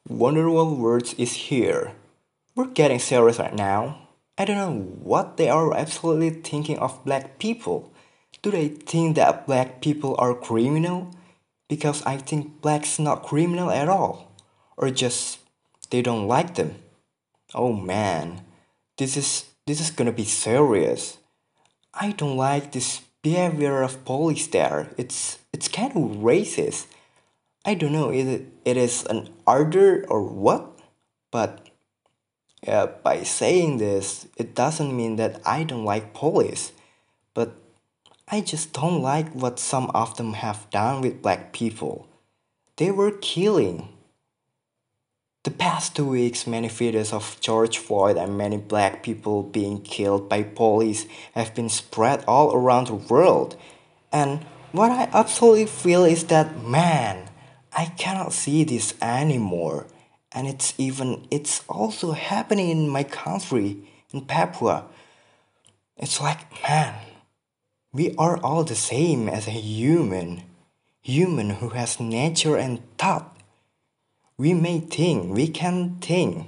Wonderful Words is here. We're getting serious right now. I don't know what they are absolutely thinking of black people. Do they think that black people are criminal? Because I think black's not criminal at all. Or just they don't like them. Oh man, this is gonna be serious. I don't like this behavior of police there. It's kind of racist. I don't know if it is an order or what, but by saying this, it doesn't mean that I don't like police, but I just don't like what some of them have done with black people. They were killing. The past 2 weeks, many videos of George Floyd and many black people being killed by police have been spread all around the world. And what I absolutely feel is that, man, I cannot see this anymore. And it's also happening in my country, in Papua. It's like, man, we are all the same as a human. Human who has nature and thought. We may think, we can think.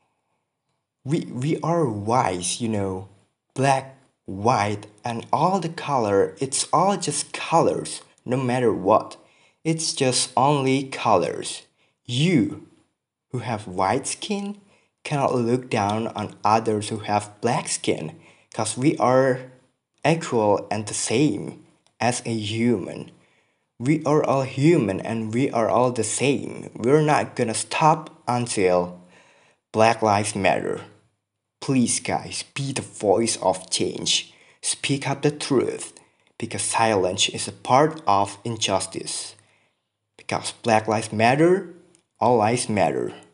We are wise, black, white, and all the color, it's all just colors, no matter what. It's just only colors. You, who have white skin, cannot look down on others who have black skin, because we are equal and the same as a human. We are all human and we are all the same. We're not gonna stop until Black Lives Matter. Please, guys, be the voice of change. Speak up the truth, because silence is a part of injustice. Because Black Lives Matter, all lives matter.